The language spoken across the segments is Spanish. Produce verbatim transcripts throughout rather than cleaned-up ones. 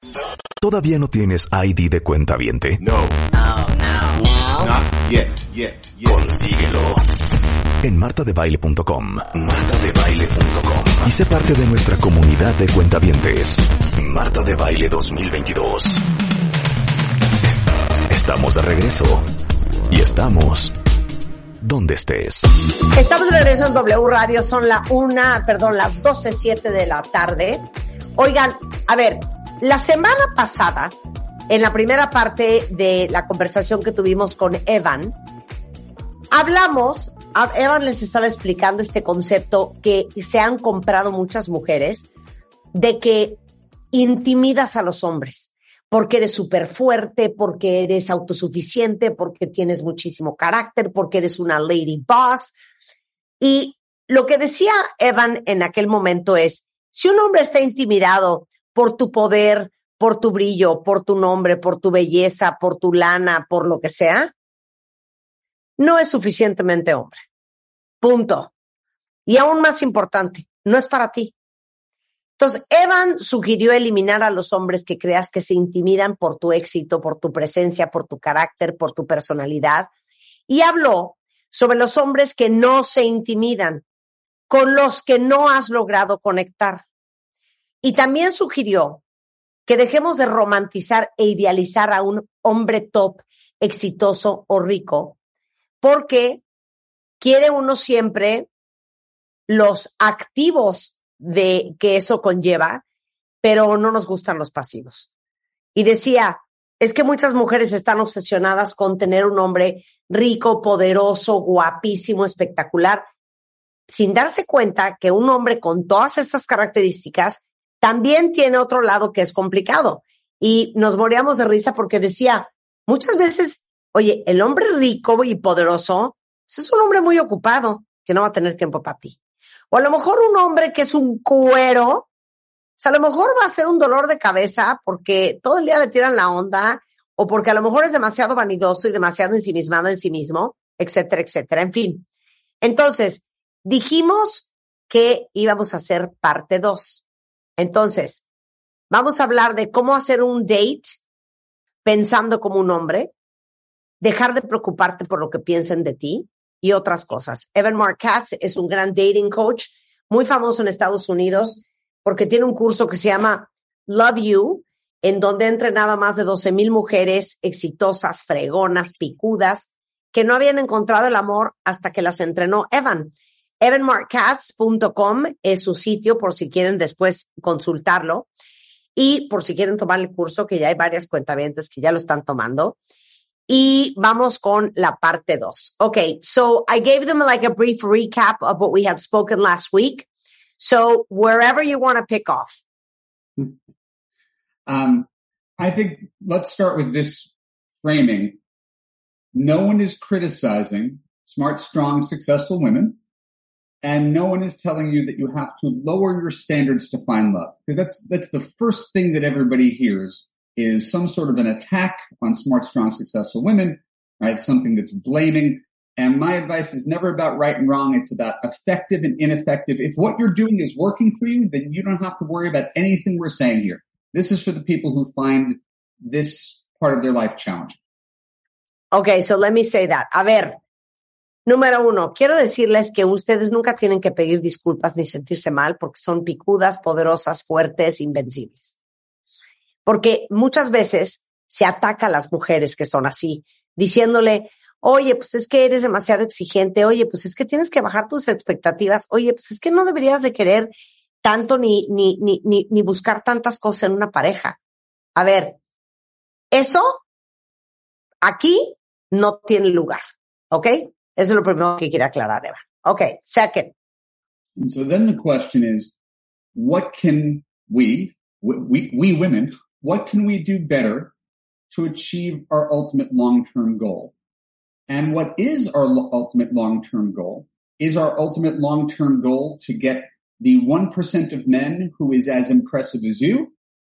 ¿Todavía no tienes I D de cuentaviente? No. Oh, no. No. Not yet, yet, yet. Consíguelo en marta de baile punto com. marta de baile punto com. Y sé parte de nuestra comunidad de cuentavientes. Marta de Baile dos mil veintidós. Estamos de regreso. Y estamos donde estés. Estamos de regreso en W Radio. Son la una, perdón, las doce siete de la tarde. Oigan, a ver, la semana pasada, en la primera parte de la conversación que tuvimos con Evan, hablamos, Evan les estaba explicando este concepto que se han comprado muchas mujeres, de que intimidas a los hombres, porque eres súper fuerte, porque eres autosuficiente, porque tienes muchísimo carácter, porque eres una lady boss. Y lo que decía Evan en aquel momento es, si un hombre está intimidado por tu poder, por tu brillo, por tu nombre, por tu belleza, por tu lana, por lo que sea, no es suficientemente hombre. Punto. Y aún más importante, no es para ti. Entonces, Evan sugirió eliminar a los hombres que creas que se intimidan por tu éxito, por tu presencia, por tu carácter, por tu personalidad. Y habló sobre los hombres que no se intimidan, con los que no has logrado conectar. Y también sugirió que dejemos de romantizar e idealizar a un hombre top, exitoso o rico, porque quiere uno siempre los activos de que eso conlleva, pero no nos gustan los pasivos. Y decía, es que muchas mujeres están obsesionadas con tener un hombre rico, poderoso, guapísimo, espectacular, sin darse cuenta que un hombre con todas estas características también tiene otro lado que es complicado. Y nos moríamos de risa porque decía, muchas veces, oye, el hombre rico y poderoso pues es un hombre muy ocupado que no va a tener tiempo para ti. O a lo mejor un hombre que es un cuero, o sea, a lo mejor va a ser un dolor de cabeza porque todo el día le tiran la onda, o porque a lo mejor es demasiado vanidoso y demasiado ensimismado en sí mismo, etcétera, etcétera. En fin. Entonces, dijimos que íbamos a hacer parte dos. Entonces, vamos a hablar de cómo hacer un date pensando como un hombre, dejar de preocuparte por lo que piensen de ti, y otras cosas. Evan Marc Katz es un gran dating coach, muy famoso en Estados Unidos, porque tiene un curso que se llama Love You, en donde ha entrenado a más de doce mil mujeres exitosas, fregonas, picudas, que no habían encontrado el amor hasta que las entrenó Evan. evan marc katz punto com es su sitio, por si quieren después consultarlo, y por si quieren tomar el curso, que ya hay varias cuentavientes que ya lo están tomando. Y vamos con la parte dos. Okay, so I gave them like a brief recap of what we had spoken last week. So wherever you want to pick off. Um, I think let's start with this framing. No one is criticizing smart, strong, successful women, and no one is telling you that you have to lower your standards to find love. Because that's, that's the first thing that everybody hears, is some sort of an attack on smart, strong, successful women, right? Something that's blaming. And my advice is never about right and wrong. It's about effective and ineffective. If what you're doing is working for you, then you don't have to worry about anything we're saying here. This is for the people who find this part of their life challenging. Okay, so let me say that. A ver, número uno, quiero decirles que ustedes nunca tienen que pedir disculpas ni sentirse mal porque son picudas, poderosas, fuertes, invencibles. Porque muchas veces se ataca a las mujeres que son así, diciéndole, oye, pues es que eres demasiado exigente, oye, pues es que tienes que bajar tus expectativas, oye, pues es que no deberías de querer tanto ni, ni, ni, ni, ni buscar tantas cosas en una pareja. A ver, eso aquí no tiene lugar, ¿ok? Eso es lo primero que quiero aclarar, Eva. Okay, second. And so then the question is, what can we, we, we women, what can we do better to achieve our ultimate long-term goal? And what is our lo- ultimate long-term goal? Is our ultimate long-term goal to get the one percent of men who is as impressive as you?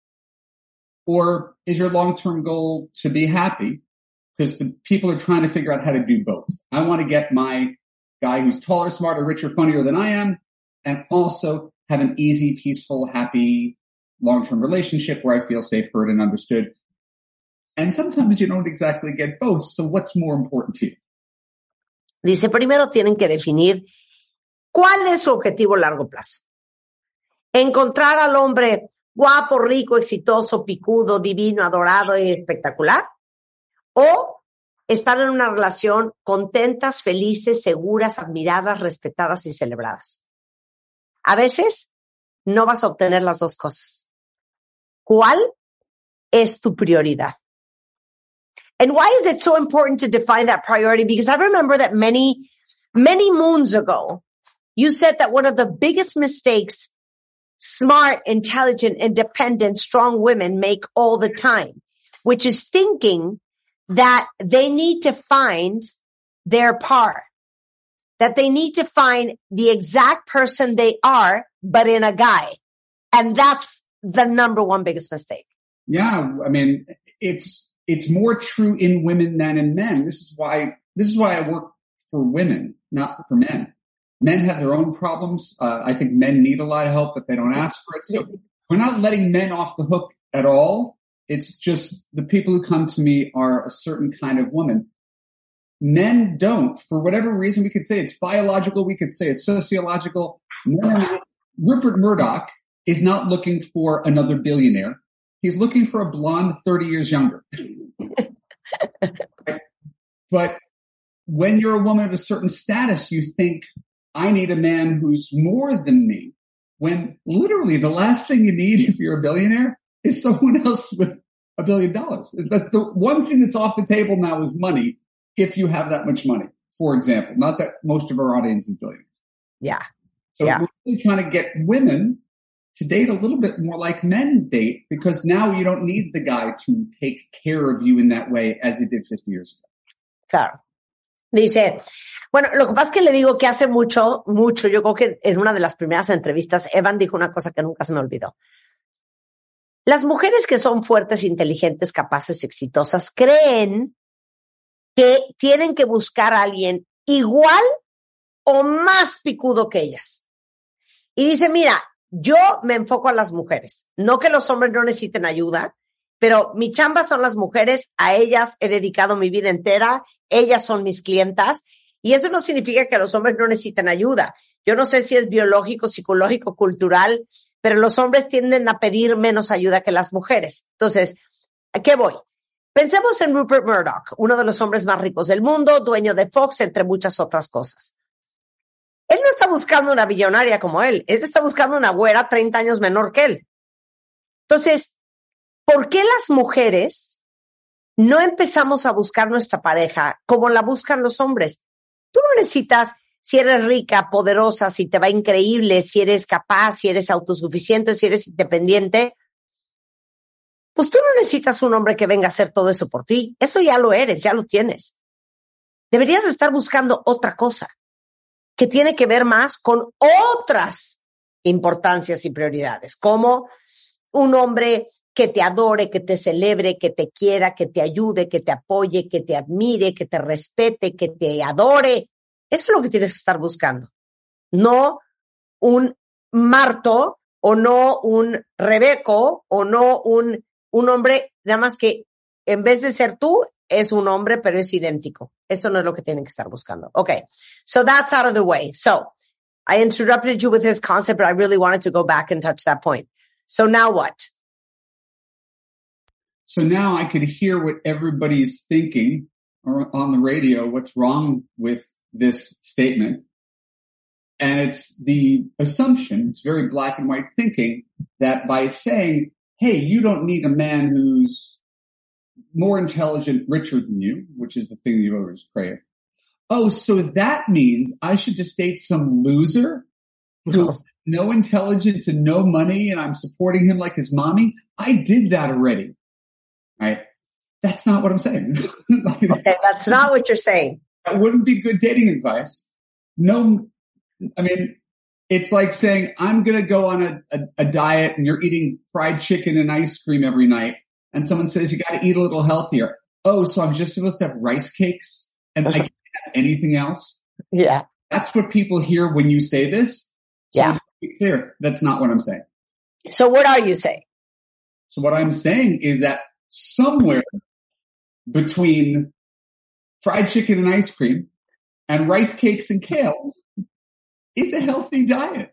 Or is your long-term goal to be happy? Because the people are trying to figure out how to do both. I want to get my guy who's taller, smarter, richer, funnier than I am, and also have an easy, peaceful, happy long-term relationship where I feel safe, heard, and understood. And sometimes you don't exactly get both. So what's more important to you? Dice, primero tienen que definir cuál es su objetivo a largo plazo. Encontrar al hombre guapo, rico, exitoso, picudo, divino, adorado y espectacular. O estar en una relación contentas, felices, seguras, admiradas, respetadas y celebradas. A veces no vas a obtener las dos cosas. ¿Cuál es tu prioridad? And why is it so important to define that priority? Because I remember that many, many moons ago, you said that one of the biggest mistakes smart, intelligent, independent, strong women make all the time, which is thinking that they need to find their par, that they need to find the exact person they are, but in a guy. And that's the number one biggest mistake. Yeah. I mean, it's, it's more true in women than in men. This is why, this is why I work for women, not for men. Men have their own problems. Uh, I think men need a lot of help, but they don't ask for it. So we're not letting men off the hook at all. It's just the people who come to me are a certain kind of woman. Men don't, for whatever reason. We could say it's biological. We could say it's sociological. Men are not, Rupert Murdoch is not looking for another billionaire. He's looking for a blonde thirty years younger. But when you're a woman of a certain status, you think, I need a man who's more than me. When literally the last thing you need if you're a billionaire is someone else with a billion dollars. The, the one thing that's off the table now is money, if you have that much money, for example. Not that most of our audience is billionaires. Yeah. So yeah. we're really trying to get women to date a little bit more like men date, because now you don't need the guy to take care of you in that way as he did fifty years ago. Claro. Dice, bueno, lo que pasa es que le digo que hace mucho, mucho, yo creo que en una de las primeras entrevistas, Evan dijo una cosa que nunca se me olvidó. Las mujeres que son fuertes, inteligentes, capaces, exitosas, creen que tienen que buscar a alguien igual o más picudo que ellas. Y dice, mira, yo me enfoco a las mujeres. No que los hombres no necesiten ayuda, pero mi chamba son las mujeres, a ellas he dedicado mi vida entera, ellas son mis clientas, y eso no significa que los hombres no necesiten ayuda. Yo no sé si es biológico, psicológico, cultural, pero los hombres tienden a pedir menos ayuda que las mujeres. Entonces, ¿a qué voy? Pensemos en Rupert Murdoch, uno de los hombres más ricos del mundo, dueño de Fox, entre muchas otras cosas. Él no está buscando una billonaria como él, él está buscando una güera treinta años menor que él. Entonces, ¿por qué las mujeres no empezamos a buscar nuestra pareja como la buscan los hombres? Tú no necesitas, si eres rica, poderosa, si te va increíble, si eres capaz, si eres autosuficiente, si eres independiente, pues tú no necesitas un hombre que venga a hacer todo eso por ti. Eso ya lo eres, ya lo tienes. Deberías estar buscando otra cosa que tiene que ver más con otras importancias y prioridades, como un hombre que te adore, que te celebre, que te quiera, que te ayude, que te apoye, que te admire, que te respete, que te adore. Eso es lo que tienes que estar buscando. No un Marto, o no un Rebeco, o no un, un hombre, nada más que en vez de ser tú, es un hombre, pero es idéntico. Eso no es lo que tienen que estar buscando. Okay, so that's out of the way. So I interrupted you with this concept, but I really wanted to go back and touch that point. So now what? So now I could hear what everybody's thinking or on the radio, what's wrong with this statement. And it's the assumption, it's very black and white thinking, that by saying, hey, you don't need a man who's more intelligent, richer than you, which is the thing you always crave. Oh, so that means I should just date some loser who No. has no intelligence and no money, and I'm supporting him like his mommy? I did that already. Right? That's not what I'm saying. Like, Okay, that's not what you're saying. that wouldn't be good dating advice. No, I mean, it's like saying, I'm going to go on a, a, a diet and you're eating fried chicken and ice cream every night. And someone says, you got to eat a little healthier. Oh, so I'm just supposed to have rice cakes and I can't have anything else? Yeah. That's what people hear when you say this. So Yeah. to be clear, that's not what I'm saying. So what are you saying? So what I'm saying is that somewhere between fried chicken and ice cream and rice cakes and kale is a healthy diet.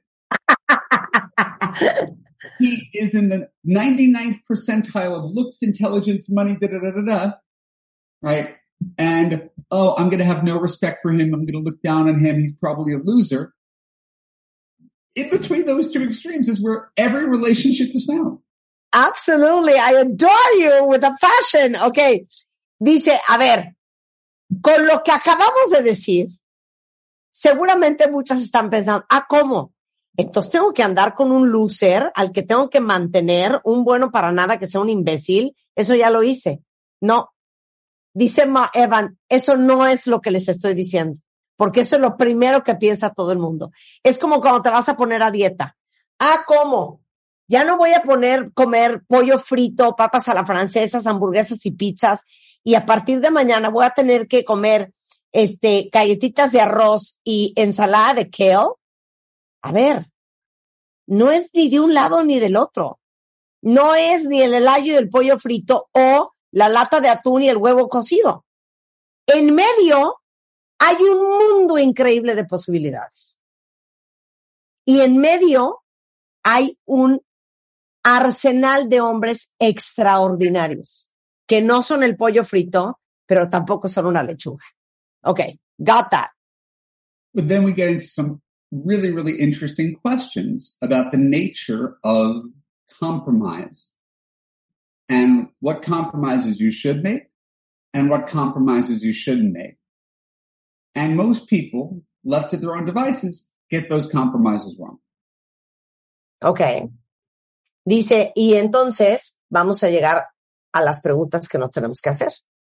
He is in the ninety-ninth percentile of looks, intelligence, money, da da da da da. Right? And, oh, I'm going to have no respect for him. I'm going to look down on him. He's probably a loser. In between those two extremes is where every relationship is found. Absolutely. I adore you with a passion. Okay. Dice, a ver, con lo que acabamos de decir, seguramente muchas están pensando, ah, ¿cómo? Entonces tengo que andar con un loser al que tengo que mantener, un bueno para nada que sea un imbécil. Eso ya lo hice. No. Dice Ma Evan, eso no es lo que les estoy diciendo, porque eso es lo primero que piensa todo el mundo. Es como cuando te vas a poner a dieta. Ah, ¿cómo? Ya no voy a poner comer pollo frito, papas a la francesa, hamburguesas y pizzas, y a partir de mañana voy a tener que comer este galletitas de arroz y ensalada de kale. A ver, no es ni de un lado ni del otro. No es ni el helado y el pollo frito o la lata de atún y el huevo cocido. En medio hay un mundo increíble de posibilidades. Y en medio hay un arsenal de hombres extraordinarios, que no son el pollo frito, pero tampoco son una lechuga. Okay, got that. But then we get into some really, really interesting questions about the nature of compromise and what compromises you should make and what compromises you shouldn't make. And most people, left to their own devices, get those compromises wrong. Okay. Dice, y entonces vamos a llegar a las preguntas que nos tenemos que hacer.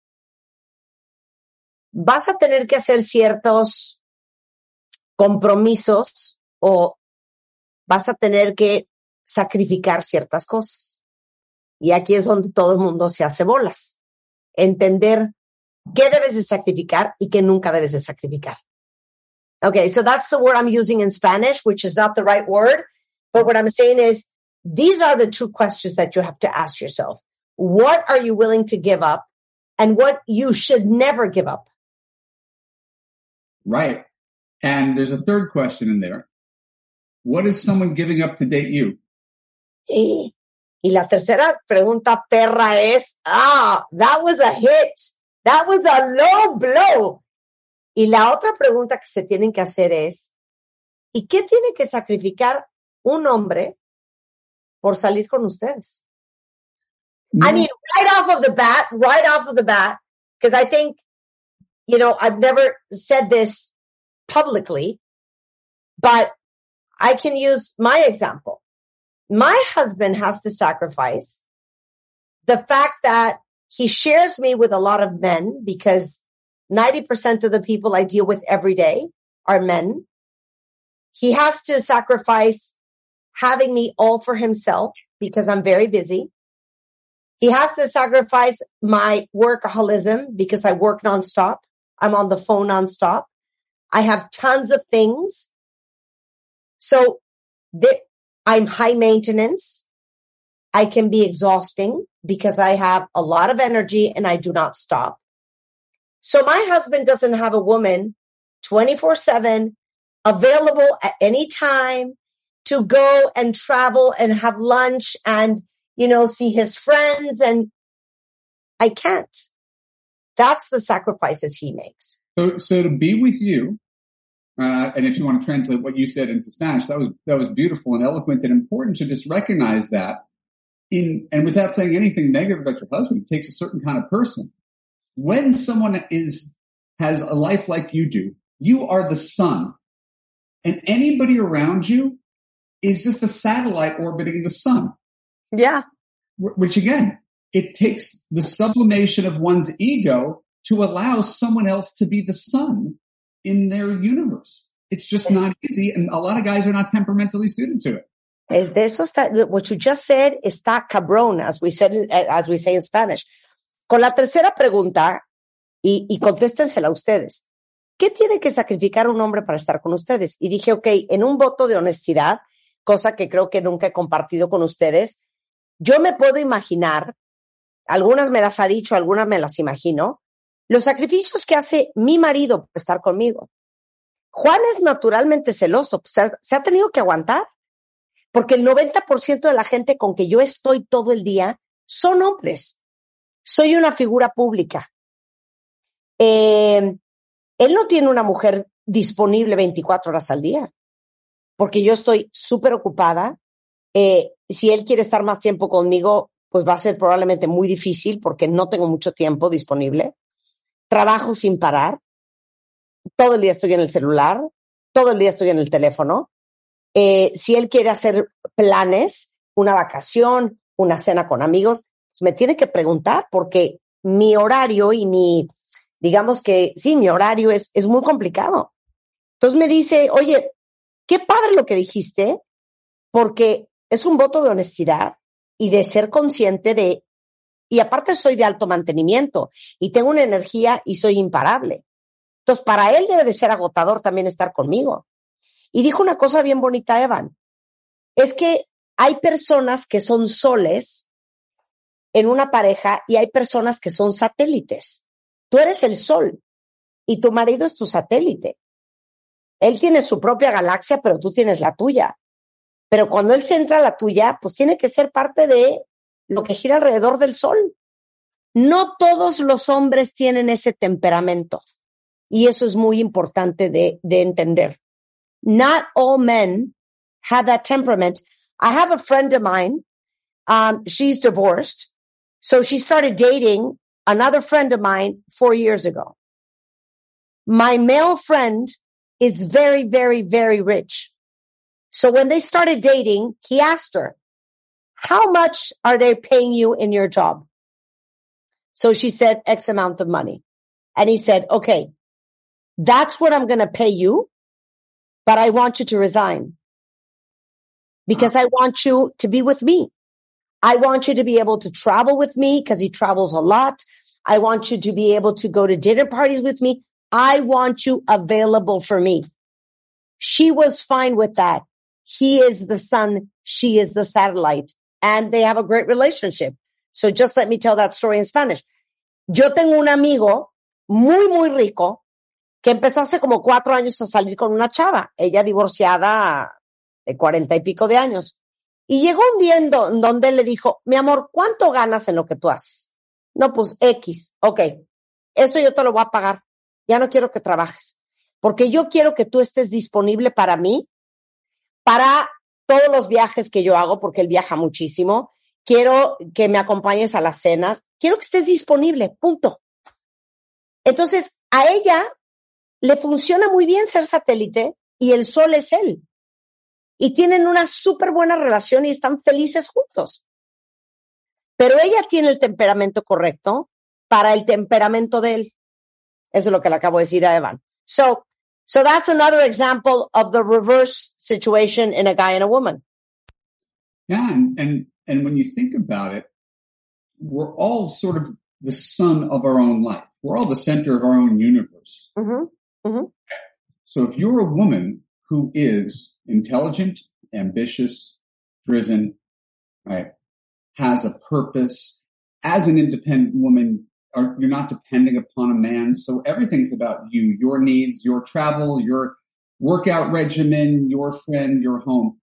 Vas a tener que hacer ciertos compromisos o vas a tener que sacrificar ciertas cosas. Y aquí es donde todo el mundo se hace bolas. Entender qué debes de sacrificar y qué nunca debes de sacrificar. Okay, so that's the word I'm using in Spanish, which is not the right word. But what I'm saying is, these are the two questions that you have to ask yourself. What are you willing to give up and what you should never give up? Right. And there's a third question in there. What is someone giving up to date you? Y, y la tercera pregunta perra es, ah, that was a hit. That was a low blow. Y la otra pregunta que se tienen que hacer es, ¿y qué tiene que sacrificar un hombre por salir con ustedes? No. I mean, right off of the bat, right off of the bat, because I think, you know, I've never said this publicly, but I can use my example. My husband has to sacrifice the fact that he shares me with a lot of men because ninety percent of the people I deal with every day are men. He has to sacrifice having me all for himself because I'm very busy. He has to sacrifice my workaholism because I work nonstop. I'm on the phone nonstop. I have tons of things. So th- I'm high maintenance. I can be exhausting because I have a lot of energy and I do not stop. So my husband doesn't have a woman twenty-four seven available at any time to go and travel and have lunch and, you know, see his friends. And I can't. That's the sacrifices he makes. So, so to be with you, uh, and if you want to translate what you said into Spanish, that was, that was beautiful and eloquent and important to just recognize that in, and without saying anything negative about your husband, it takes a certain kind of person. When someone is, has a life like you do, you are the sun and anybody around you is just a satellite orbiting the sun. Yeah. Which again, it takes the sublimation of one's ego to allow someone else to be the sun in their universe. It's just not easy. And a lot of guys are not temperamentally suited to it. De eso está, what you just said está cabrón, as we said, as we say in Spanish. Con la tercera pregunta, y, y contéstensela ustedes. ¿Qué tiene que sacrificar un hombre para estar con ustedes? Y dije, okay, en un voto de honestidad, cosa que creo que nunca he compartido con ustedes, yo me puedo imaginar, algunas me las ha dicho, algunas me las imagino, los sacrificios que hace mi marido por estar conmigo. Juan es naturalmente celoso, pues, se, se ha tenido que aguantar, porque el noventa por ciento de la gente con que yo estoy todo el día son hombres. Soy una figura pública. Eh, él no tiene una mujer disponible veinticuatro horas al día, porque yo estoy súper ocupada. Eh, si él quiere estar más tiempo conmigo, pues va a ser probablemente muy difícil porque no tengo mucho tiempo disponible. Trabajo sin parar. Todo el día estoy en el celular. Todo el día estoy en el teléfono. Eh, si él quiere hacer planes, una vacación, una cena con amigos, pues me tiene que preguntar porque mi horario y mi, digamos que, sí, mi horario es, es muy complicado. Entonces me dice, oye, qué padre lo que dijiste, porque es un voto de honestidad y de ser consciente de, y aparte soy de alto mantenimiento y tengo una energía y soy imparable. Entonces para él debe de ser agotador también estar conmigo. Y dijo una cosa bien bonita, Evan, es que hay personas que son soles en una pareja y hay personas que son satélites. Tú eres el sol y tu marido es tu satélite. Él tiene su propia galaxia, pero tú tienes la tuya. Pero cuando él se entra a la tuya, pues tiene que ser parte de lo que gira alrededor del sol. No todos los hombres tienen ese temperamento. Y eso es muy importante de, de entender. Not all men have that temperament. I have a friend of mine. Um, she's divorced. So she started dating another friend of mine four years ago. My male friend is very, very, very rich. So when they started dating, he asked her, how much are they paying you in your job? So she said X amount of money. And he said, okay, that's what I'm going to pay you, but I want you to resign because I want you to be with me. I want you to be able to travel with me because he travels a lot. I want you to be able to go to dinner parties with me. I want you available for me. She was fine with that. He is the sun. She is the satellite. And they have a great relationship. So just let me tell that story in Spanish. Yo tengo un amigo muy, muy rico que empezó hace como cuatro años a salir con una chava. Ella divorciada de cuarenta y pico de años. Y llegó un día en, do, en donde le dijo, mi amor, ¿cuánto ganas en lo que tú haces? No, pues X. Ok. Eso yo te lo voy a pagar. Ya no quiero que trabajes. Porque yo quiero que tú estés disponible para mí, para todos los viajes que yo hago, porque él viaja muchísimo. Quiero que me acompañes a las cenas. Quiero que estés disponible. Punto. Entonces, a ella le funciona muy bien ser satélite y el sol es él. Y tienen una súper buena relación y están felices juntos. Pero ella tiene el temperamento correcto para el temperamento de él. Eso es lo que le acabo de decir a Evan. So, so that's another example of the reverse situation in a guy and a woman. Yeah, and, and, and when you think about it, we're all sort of the sun of our own life. We're all the center of our own universe. Mm-hmm. Mm-hmm. So if you're a woman who is intelligent, ambitious, driven, right, has a purpose, as an independent woman, or you're not depending upon a man, so everything's about you, your needs, your travel, your workout regimen, your friend, your home.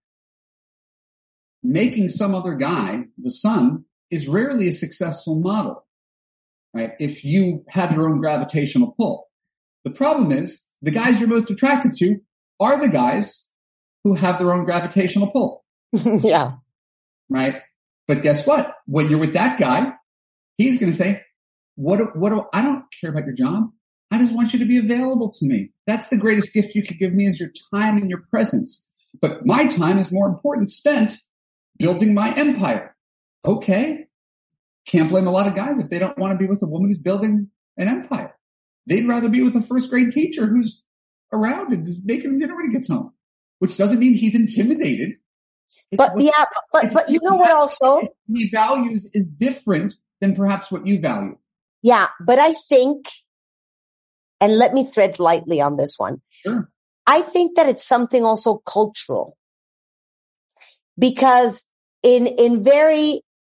Making some other guy the sun is rarely a successful model, right? If you have your own gravitational pull. The problem is the guys you're most attracted to are the guys who have their own gravitational pull. Yeah. Right? But guess what? When you're with that guy, he's going to say, what, do, what do, I don't care about your job. I just want you to be available to me. That's the greatest gift you could give me is your time and your presence. But my time is more important spent building my empire. Okay. Can't blame a lot of guys if they don't want to be with a woman who's building an empire. They'd rather be with a first grade teacher who's around and just making him dinner when he gets home, which doesn't mean he's intimidated. But it's yeah, what, but, but you know what also? He values is different than perhaps what you value. Yeah, but I think, and let me thread lightly on this one. Sure. I think that it's something also cultural. Because in, in very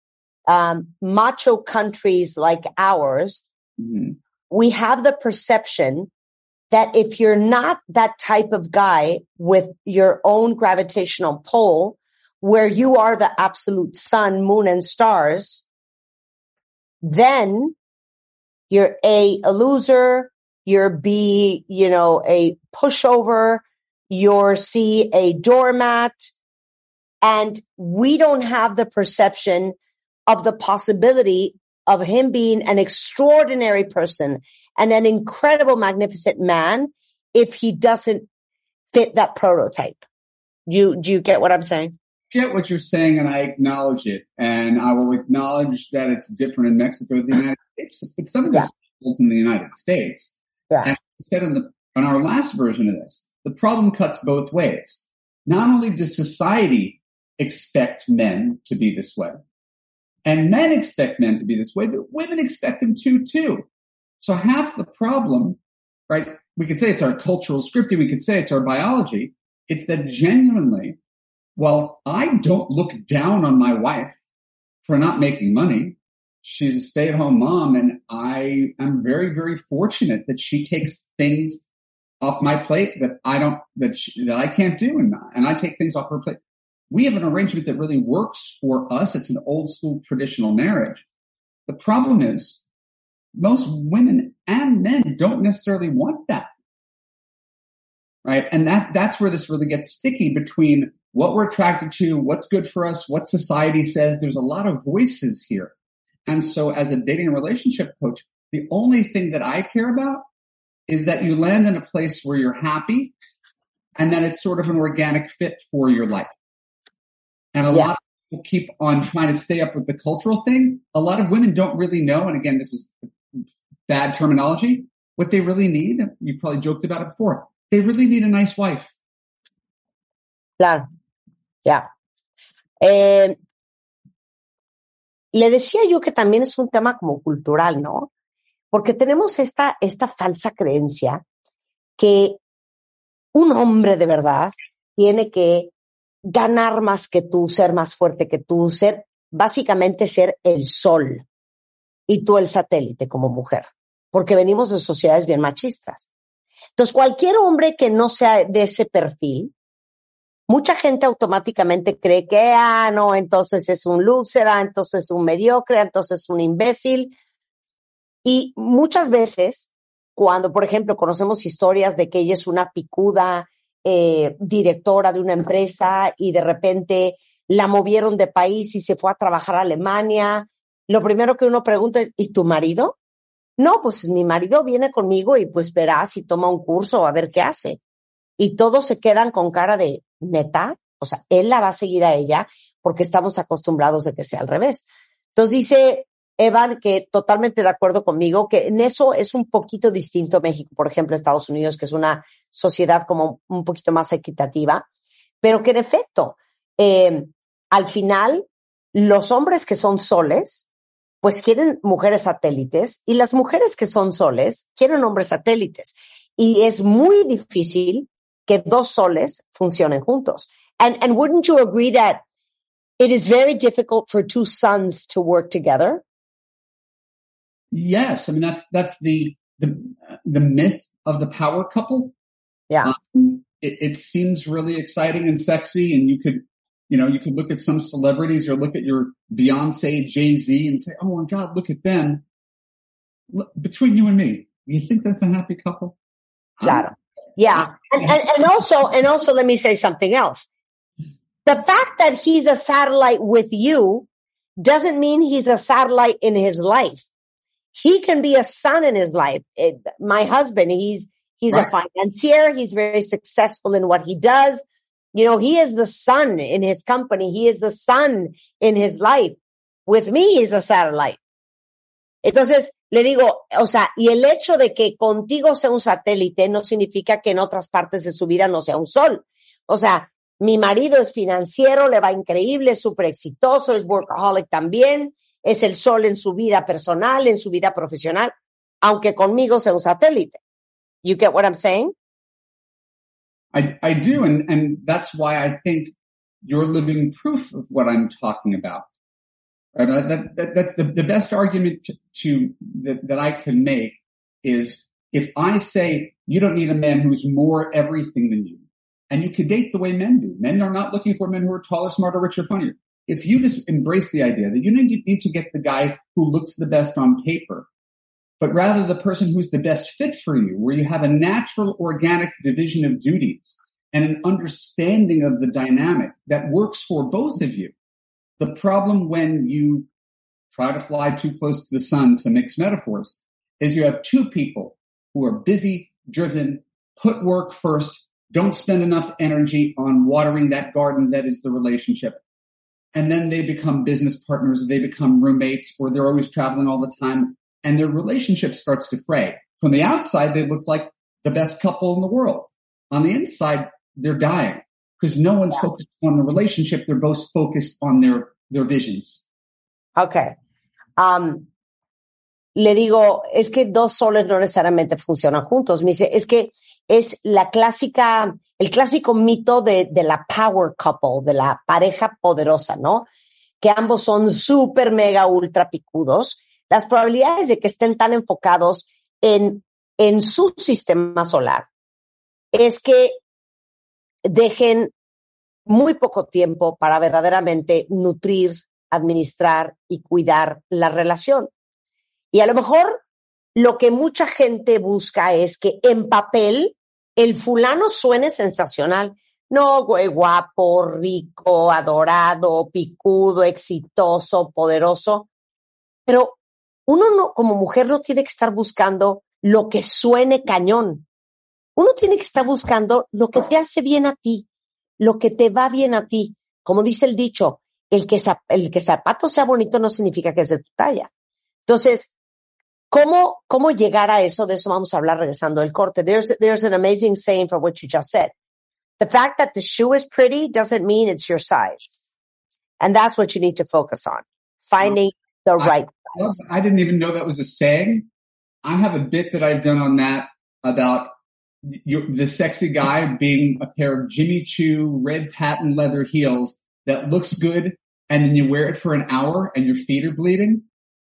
um, macho countries like ours, mm-hmm. we have the perception that if you're not that type of guy with your own gravitational pull, where you are the absolute sun, moon, and stars, then you're A, a loser, you're B, you know, a pushover, you're C, a doormat, and we don't have the perception of the possibility of him being an extraordinary person and an incredible, magnificent man if he doesn't fit that prototype. You, do you get what I'm saying? I get what you're saying, and I acknowledge it. And I will acknowledge that it's different in Mexico than the United States. But some of this yeah. is in the United States. Yeah. And I said in, the, in our last version of this, the problem cuts both ways. Not only does society expect men to be this way, and men expect men to be this way, but women expect them to too. So half the problem, right? We could say it's our cultural scripting. We could say it's our biology. It's that genuinely, well, I don't look down on my wife for not making money. She's a stay-at-home mom, and I am very, very fortunate that she takes things off my plate that I don't, that she, that I can't do, and and I take things off her plate. We have an arrangement that really works for us. It's an old school traditional marriage. The problem is most women and men don't necessarily want that. Right? And that, that's where this really gets sticky between what we're attracted to, what's good for us, what society says. There's a lot of voices here. And so as a dating and relationship coach, the only thing that I care about is that you land in a place where you're happy and that it's sort of an organic fit for your life. And a yeah. lot of people keep on trying to stay up with the cultural thing. A lot of women don't really know, and again, this is bad terminology, what they really need. You probably joked about it before. They really need a nice wife. Claro, ya. Yeah. Eh, le decía yo que también es un tema como cultural, ¿no? Porque tenemos esta, esta falsa creencia que un hombre de verdad tiene que ganar más que tú, ser más fuerte que tú, ser, básicamente ser el sol y tú el satélite como mujer, porque venimos de sociedades bien machistas. Entonces, cualquier hombre que no sea de ese perfil, mucha gente automáticamente cree que, ah, no, entonces es un loser, ah, entonces es un mediocre, entonces es un imbécil. Y muchas veces, cuando, por ejemplo, conocemos historias de que ella es una picuda, Eh, directora de una empresa y de repente la movieron de país y se fue a trabajar a Alemania, lo primero que uno pregunta es, ¿y tu marido? No, pues mi marido viene conmigo y pues verá si toma un curso a ver qué hace. Y todos se quedan con cara de, ¿neta? O sea, él la va a seguir a ella porque estamos acostumbrados de que sea al revés. Entonces dice Evan, que totalmente de acuerdo conmigo, que en eso es un poquito distinto México, por ejemplo, Estados Unidos, que es una sociedad como un poquito más equitativa, pero que en efecto, eh, al final, los hombres que son soles, pues quieren mujeres satélites, y las mujeres que son soles quieren hombres satélites. Y es muy difícil que dos soles funcionen juntos. And, and wouldn't you agree that it is very difficult for two suns to work together? Yes, I mean that's that's the the the myth of the power couple. Yeah, um, it, it seems really exciting and sexy, and you could, you know, you could look at some celebrities or look at your Beyonce, Jay-Z, and say, "Oh my God, look at them." Look, between you and me, do you think that's a happy couple? Claro. Yeah, and, and and also and also let me say something else. The fact that he's a satellite with you doesn't mean he's a satellite in his life. He can be a sun in his life. It, my husband, he's, he's right. a financier. He's very successful in what he does. You know, he is the sun in his company. He is the sun in his life. With me, he's a satellite. Entonces, le digo, o sea, y el hecho de que contigo sea un satélite no significa que en otras partes de su vida no sea un sol. O sea, mi marido es financiero, le va increíble, es súper exitoso, es workaholic también. Es el sol en su vida personal, en su vida profesional, aunque conmigo sea un satélite. You get what I'm saying? I, I do, and, and that's why I think you're living proof of what I'm talking about. Uh, that, that, that's the, the best argument to, to that, that I can make is if I say you don't need a man who's more everything than you, and you could date the way men do. Men are not looking for men who are taller, smarter, richer, funnier. If you just embrace the idea that you need need to get the guy who looks the best on paper, but rather the person who's the best fit for you, where you have a natural, organic division of duties and an understanding of the dynamic that works for both of you. The problem when you try to fly too close to the sun, to mix metaphors, is you have two people who are busy, driven, put work first, don't spend enough energy on watering that garden that is the relationship. And then they become business partners, they become roommates, or they're always traveling all the time, and their relationship starts to fray. From the outside, they look like the best couple in the world. On the inside, they're dying because no one's focused on the relationship. They're both focused on their, their visions. Okay. Um, le digo, es que dos soles no necesariamente funcionan juntos. Me dice, es que es la clásica, el clásico mito de, de la power couple, de la pareja poderosa, ¿no? Que ambos son súper, mega, ultra picudos. Las probabilidades de que estén tan enfocados en, en su sistema solar es que dejen muy poco tiempo para verdaderamente nutrir, administrar y cuidar la relación. Y a lo mejor lo que mucha gente busca es que en papel el fulano suene sensacional. No, güey, guapo, rico, adorado, picudo, exitoso, poderoso. Pero uno no, como mujer no tiene que estar buscando lo que suene cañón. Uno tiene que estar buscando lo que te hace bien a ti, lo que te va bien a ti. Como dice el dicho, el que, el que zapato sea bonito no significa que es de tu talla. Entonces, ¿Cómo, ¿Cómo llegar a eso? De eso vamos a hablar regresando del corte. There's, there's an amazing saying for what you just said. The fact that the shoe is pretty doesn't mean it's your size. And that's what you need to focus on. Finding the I, right size. I didn't even know that was a saying. I have a bit that I've done on that about you, the sexy guy being a pair of Jimmy Choo red patent leather heels that looks good, and then you wear it for an hour and your feet are bleeding.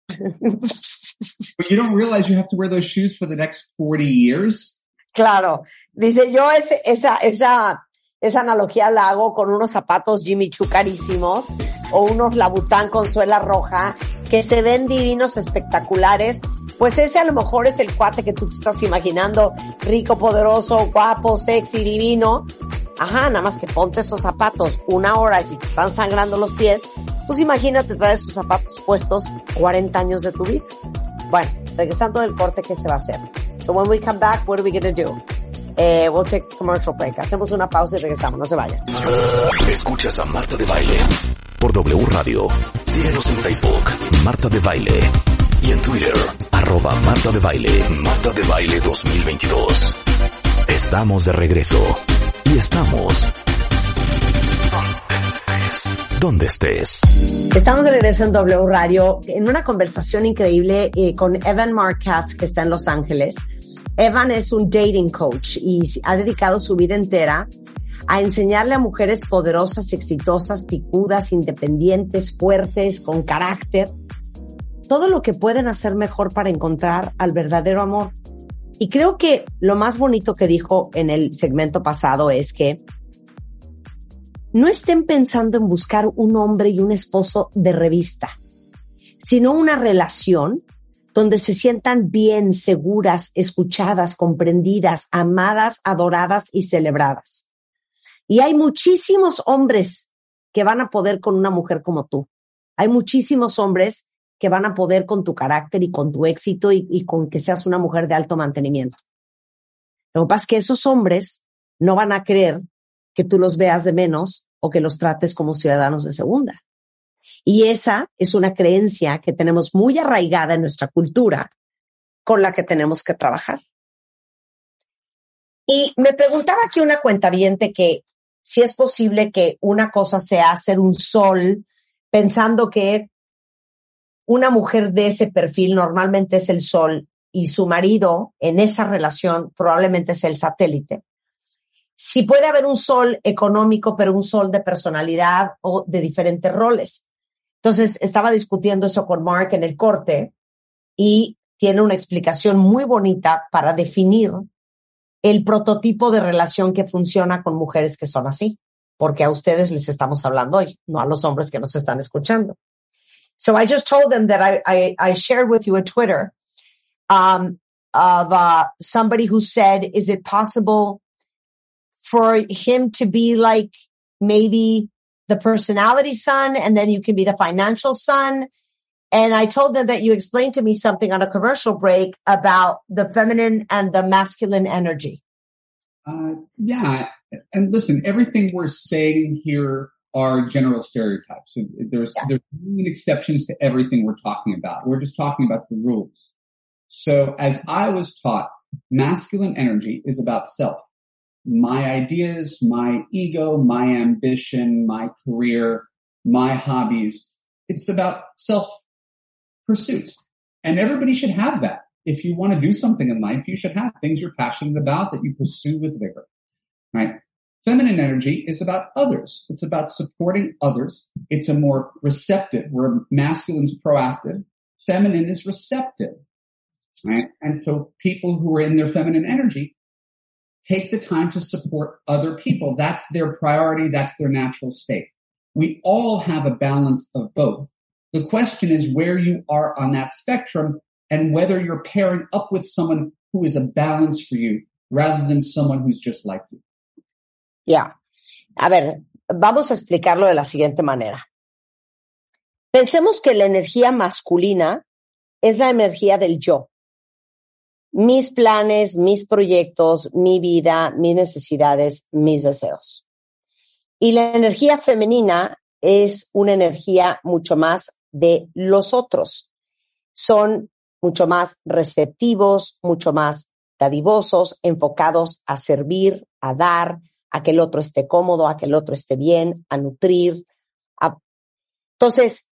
But you don't realize you have to wear those shoes for the next forty years. Claro. Dice, yo ese, esa, esa, esa analogía la hago con unos zapatos Jimmy Choo carísimos o unos Louboutin con suela roja que se ven divinos, espectaculares. Pues ese a lo mejor es el cuate que tú te estás imaginando, rico, poderoso, guapo, sexy, divino. Ajá, nada más que ponte esos zapatos una hora y si te están sangrando los pies, pues imagínate traer esos zapatos puestos cuarenta años de tu vida. Bueno, regresando del corte, ¿qué se va a hacer? So when we come back, what are we going to do? Eh, we'll take a commercial break. Hacemos una pausa y regresamos. No se vayan. Escuchas a Marta de Baile por W Radio. Síguenos en Facebook, Marta de Baile. Y en Twitter, arroba Marta de Baile, Marta de Baile dos mil veintidós. Estamos de regreso. Y estamos donde estés. Estamos de regreso en W Radio en una conversación increíble eh, con Evan Marc-Katz, que está en Los Ángeles. Evan es un dating coach y ha dedicado su vida entera a enseñarle a mujeres poderosas, exitosas, picudas, independientes, fuertes, con carácter, todo lo que pueden hacer mejor para encontrar al verdadero amor. Y creo que lo más bonito que dijo en el segmento pasado es que no estén pensando en buscar un hombre y un esposo de revista, sino una relación donde se sientan bien, seguras, escuchadas, comprendidas, amadas, adoradas y celebradas. Y hay muchísimos hombres que van a poder con una mujer como tú. Hay muchísimos hombres que van a poder con tu carácter y con tu éxito y, y con que seas una mujer de alto mantenimiento. Lo que pasa es que esos hombres no van a creer que tú los veas de menos o que los trates como ciudadanos de segunda. Y esa es una creencia que tenemos muy arraigada en nuestra cultura con la que tenemos que trabajar. Y me preguntaba aquí una cuentaviente que si es posible que una cosa sea ser un sol, pensando que una mujer de ese perfil normalmente es el sol y su marido en esa relación probablemente es el satélite. Si puede haber un sol económico, pero un sol de personalidad o de diferentes roles. Entonces, estaba discutiendo eso con Mark en el corte y tiene una explicación muy bonita para definir el prototipo de relación que funciona con mujeres que son así, porque a ustedes les estamos hablando hoy, no a los hombres que nos están escuchando. So I just told them that I, I, I shared with you a Twitter um, of uh, somebody who said, is it possible for him to be like maybe the personality son and then you can be the financial son? And I told them that you explained to me something on a commercial break about the feminine and the masculine energy. Uh, yeah. And listen, everything we're saying here are general stereotypes. There's, yeah. there's exceptions to everything we're talking about. We're just talking about the rules. So as I was taught, masculine energy is about self. My ideas, my ego, my ambition, my career, my hobbies. It's about self pursuits. And everybody should have that. If you want to do something in life, you should have things you're passionate about that you pursue with vigor, right? Feminine energy is about others. It's about supporting others. It's a more receptive, where masculine's proactive. Feminine is receptive, right? And so people who are in their feminine energy take the time to support other people. That's their priority. That's their natural state. We all have a balance of both. The question is where you are on that spectrum and whether you're pairing up with someone who is a balance for you rather than someone who's just like you. Ya. Yeah. A ver, vamos a explicarlo de la siguiente manera. Pensemos que la energía masculina es la energía del yo. Mis planes, mis proyectos, mi vida, mis necesidades, mis deseos. Y la energía femenina es una energía mucho más de los otros. Son mucho más receptivos, mucho más dadivosos, enfocados a servir, a dar, a que el otro esté cómodo, a que el otro esté bien, a nutrir. A... Entonces,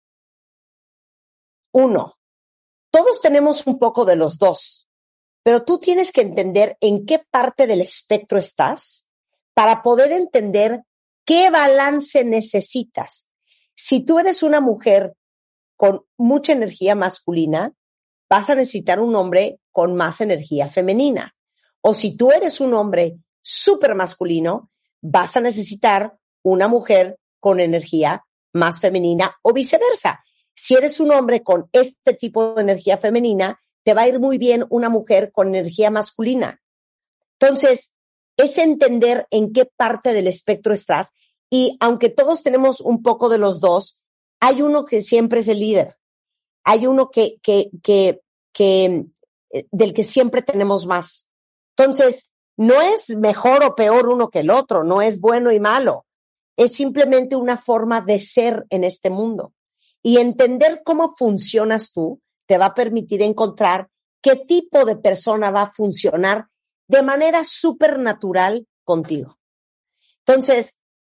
uno, todos tenemos un poco de los dos, pero tú tienes que entender en qué parte del espectro estás para poder entender qué balance necesitas. Si tú eres una mujer con mucha energía masculina, vas a necesitar un hombre con más energía femenina. O si tú eres un hombre súper masculino, vas a necesitar una mujer con energía más femenina o viceversa. Si eres un hombre con este tipo de energía femenina, te va a ir muy bien una mujer con energía masculina. Entonces, es entender en qué parte del espectro estás y aunque todos tenemos un poco de los dos, hay uno que siempre es el líder. Hay uno que, que, que, que, del que siempre tenemos más. Entonces, no es mejor o peor uno que el otro, no es bueno y malo. Es simplemente una forma de ser en este mundo. Y entender cómo funcionas tú te va a permitir encontrar qué tipo de persona va a funcionar de manera supernatural contigo. Entonces,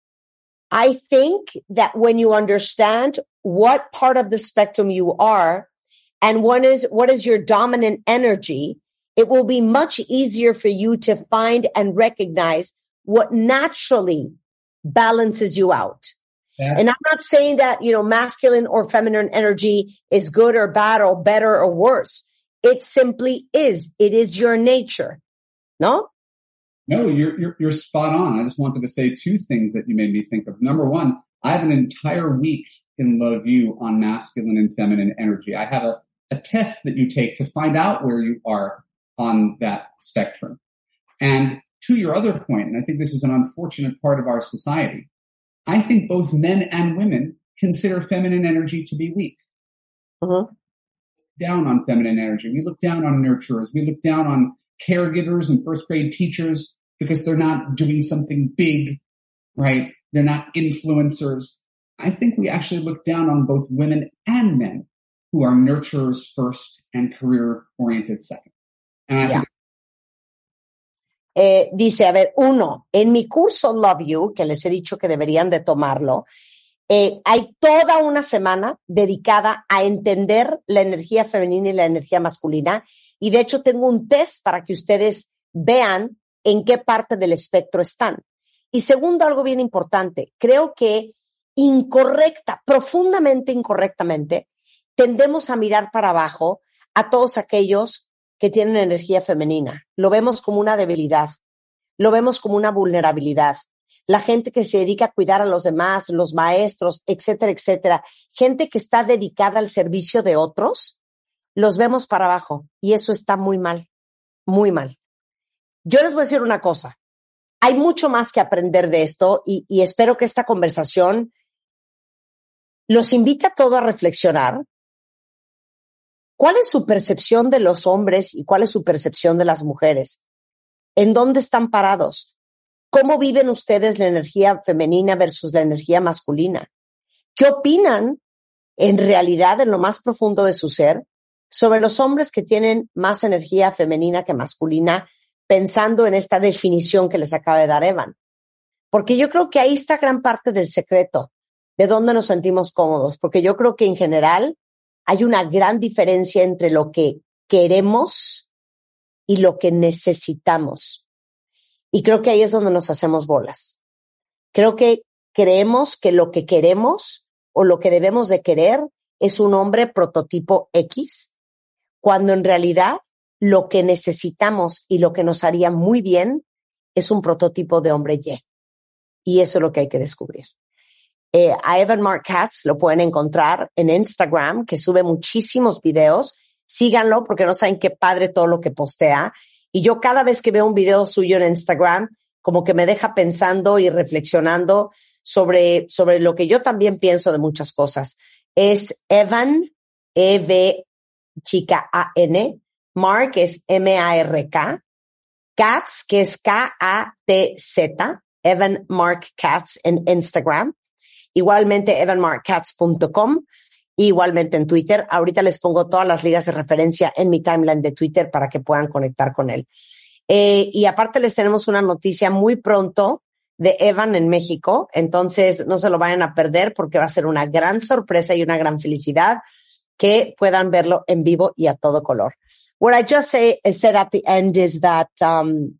I think that when you understand what part of the spectrum you are and what is, what is your dominant energy, it will be much easier for you to find and recognize what naturally balances you out. Yeah. And I'm not saying that, you know, masculine or feminine energy is good or bad or better or worse. It simply is. It is your nature. No? No, you're, you're, you're spot on. I just wanted to say two things that you made me think of. Number one, I have an entire week in Love You on masculine and feminine energy. I have a, a test that you take to find out where you are on that spectrum. And to your other point, and I think this is an unfortunate part of our society, I think both men and women consider feminine energy to be weak. Uh-huh. Down on feminine energy. We look down on nurturers. We look down on caregivers and first grade teachers because they're not doing something big, right? They're not influencers. I think we actually look down on both women and men who are nurturers first and career oriented second. And I yeah. think Eh, dice, a ver, uno, en mi curso Love You, que les he dicho que deberían de tomarlo, eh, hay toda una semana dedicada a entender la energía femenina y la energía masculina. Y de hecho tengo un test para que ustedes vean en qué parte del espectro están. Y segundo, algo bien importante, creo que incorrecta, profundamente incorrectamente, tendemos a mirar para abajo a todos aquellos que tienen energía femenina. Lo vemos como una debilidad, lo vemos como una vulnerabilidad. La gente que se dedica a cuidar a los demás, los maestros, etcétera, etcétera, gente que está dedicada al servicio de otros, los vemos para abajo y eso está muy mal, muy mal. Yo les voy a decir una cosa, hay mucho más que aprender de esto y, y espero que esta conversación los invite a todos a reflexionar. ¿Cuál es su percepción de los hombres y cuál es su percepción de las mujeres? ¿En dónde están parados? ¿Cómo viven ustedes la energía femenina versus la energía masculina? ¿Qué opinan en realidad en lo más profundo de su ser sobre los hombres que tienen más energía femenina que masculina, pensando en esta definición que les acaba de dar Evan? Porque yo creo que ahí está gran parte del secreto de dónde nos sentimos cómodos, porque yo creo que en general hay una gran diferencia entre lo que queremos y lo que necesitamos. Y creo que ahí es donde nos hacemos bolas. Creo que creemos que lo que queremos o lo que debemos de querer es un hombre prototipo X, cuando en realidad lo que necesitamos y lo que nos haría muy bien es un prototipo de hombre Y. Y eso es lo que hay que descubrir. Eh, a Evan Marc Katz lo pueden encontrar en Instagram, que sube muchísimos videos. Síganlo porque no saben qué padre todo lo que postea. Y yo cada vez que veo un video suyo en Instagram, como que me deja pensando y reflexionando sobre, sobre lo que yo también pienso de muchas cosas. Es Evan, E V chica A N, Mark es M A R K, Katz, que es K A T Z, Evan Marc Katz en Instagram. Igualmente evan marc katz punto com, igualmente en Twitter. Ahorita les pongo todas las ligas de referencia en mi timeline de Twitter para que puedan conectar con él. Eh, y aparte les tenemos una noticia muy pronto de Evan en México, entonces no se lo vayan a perder porque va a ser una gran sorpresa y una gran felicidad que puedan verlo en vivo y a todo color. What I just say, said at the end is that um,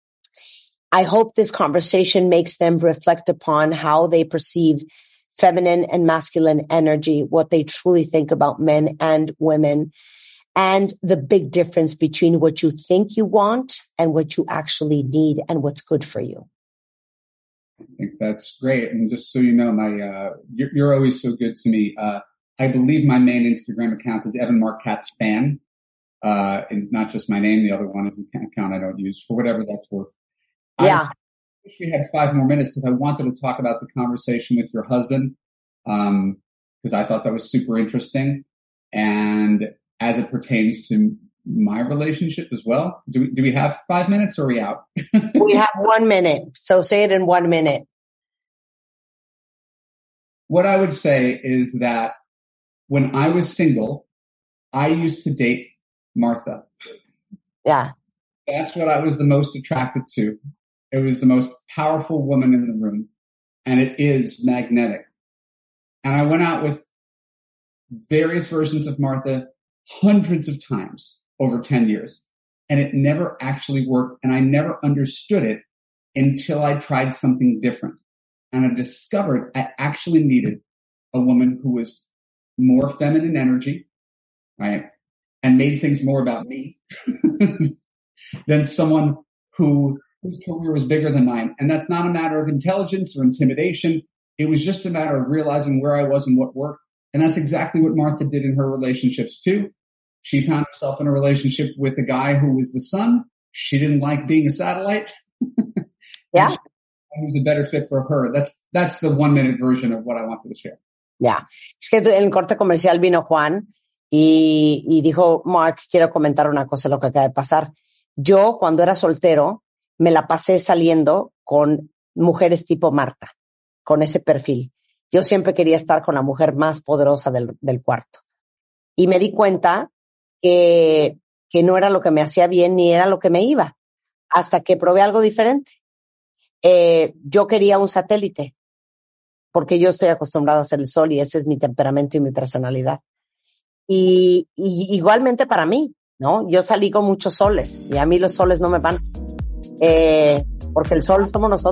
I hope this conversation makes them reflect upon how they perceive feminine and masculine energy, what they truly think about men and women, and the big difference between what you think you want and what you actually need and what's good for you. I think that's great. And just so you know, my uh, you're, you're always so good to me. Uh, I believe my main Instagram account is Evan Marc Katz Fan. Uh, it's not just my name. The other one is an account I don't use for whatever that's worth. Yeah. I wish we had five more minutes because I wanted to talk about the conversation with your husband, um, because I thought that was super interesting. And as it pertains to my relationship as well. Do we, do we have five minutes or are we out? We have one minute. So say it in one minute. What I would say is that when I was single, I used to date Martha. Yeah. That's what I was the most attracted to. It was the most powerful woman in the room, and it is magnetic. And I went out with various versions of Martha hundreds of times over ten years, and it never actually worked, and I never understood it until I tried something different. And I discovered I actually needed a woman who was more feminine energy, right, and made things more about me than someone who whose career was bigger than mine. And that's not a matter of intelligence or intimidation. It was just a matter of realizing where I was and what worked. And that's exactly what Martha did in her relationships too. She found herself in a relationship with a guy who was the sun. She didn't like being a satellite. Yeah. It was a better fit for her. That's, that's the one minute version of what I wanted to share. Ya. Yeah. Es que en el corte comercial vino Juan y, y dijo, Mark, quiero comentar una cosa de lo que acaba de pasar. Yo, cuando era soltero, me la pasé saliendo con mujeres tipo Marta, con ese perfil. Yo siempre quería estar con la mujer más poderosa del, del cuarto. Y me di cuenta que, que no era lo que me hacía bien ni era lo que me iba, hasta que probé algo diferente. Eh, yo quería un satélite, porque yo estoy acostumbrado a hacer el sol y ese es mi temperamento y mi personalidad. Y, y igualmente para mí, ¿no? Yo salí con muchos soles y a mí los soles no me van. Eh, porque el sol somos nosotros.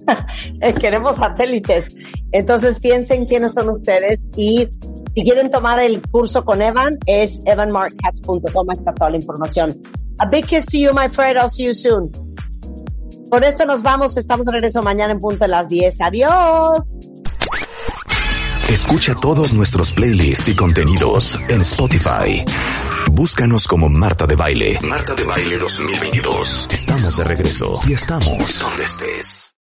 Queremos satélites. Entonces piensen quiénes son ustedes y si quieren tomar el curso con Evan, es evan marc katz punto com, está toda la información. A big kiss to you, my friend. I'll see you soon. Con esto nos vamos. Estamos de regreso mañana en punto de las diez. Adiós. Escucha todos nuestros playlists y contenidos en Spotify. Búscanos como Marta de Baile. Marta de Baile dos mil veintidós. Estamos de regreso y estamos donde estés.